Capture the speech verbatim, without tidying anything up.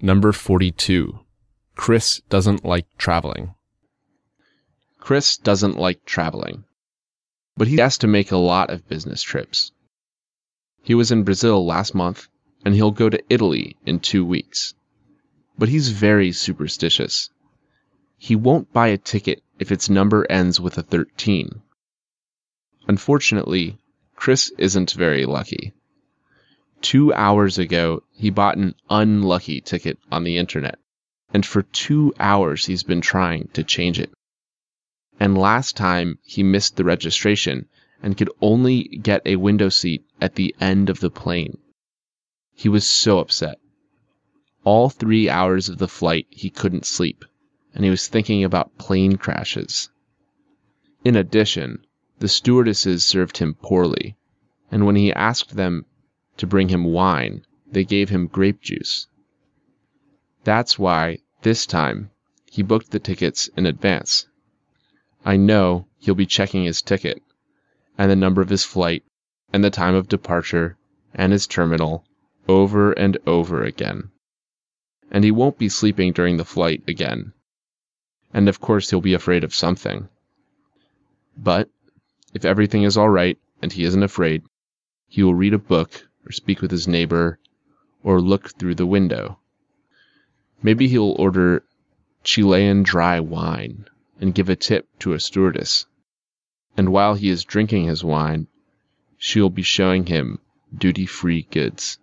Number forty-two. Chris doesn't like traveling. Chris doesn't like traveling, but he has to make a lot of business trips. He was in Brazil last month, and he'll go to Italy in two weeks. But he's very superstitious. He won't buy a ticket if its number ends with a thirteen. Unfortunately, Chris isn't very lucky. Two hours ago, he bought an unlucky ticket on the internet, and for two hours he's been trying to change it. And last time, he missed the registration and could only get a window seat at the end of the plane. He was so upset. All three hours of the flight, he couldn't sleep, and he was thinking about plane crashes. In addition, the stewardesses served him poorly, and when he asked them to bring him wine, they gave him grape juice. That's why, this time, he booked the tickets in advance. I know he'll be checking his ticket, and the number of his flight, and the time of departure, and his terminal, over and over again. And he won't be sleeping during the flight again. And of course he'll be afraid of something. But, if everything is all right, and he isn't afraid, he will read a book, or speak with his neighbor, or look through the window. Maybe he'll order Chilean dry wine, and give a tip to a stewardess. And while he is drinking his wine, she'll be showing him duty-free goods.